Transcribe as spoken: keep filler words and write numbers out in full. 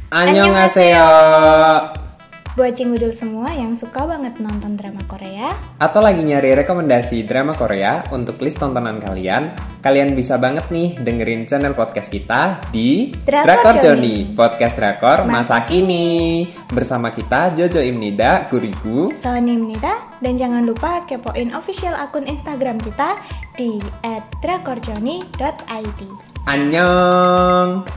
Annyeonghaseyo. Buat cingudul semua yang suka banget nonton drama Korea atau lagi nyari rekomendasi drama Korea untuk list tontonan kalian, kalian bisa banget nih dengerin channel podcast kita di Drakor Journey, podcast drakor masa, Masa kini. Bersama kita Jojo Imnida, Gurigu, Sony Imnida, dan jangan lupa kepoin official akun Instagram kita di et drakorjourney dot i d. Annyeong.